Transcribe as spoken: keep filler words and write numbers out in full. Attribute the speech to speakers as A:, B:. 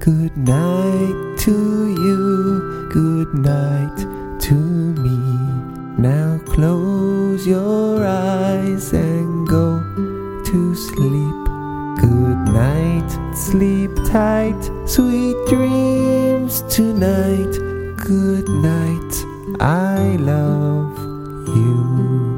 A: Good night to you, good night to me. Now close your eyes and go to sleep. Good night, sleep tight, sweet dreams tonight. Good night, I love you.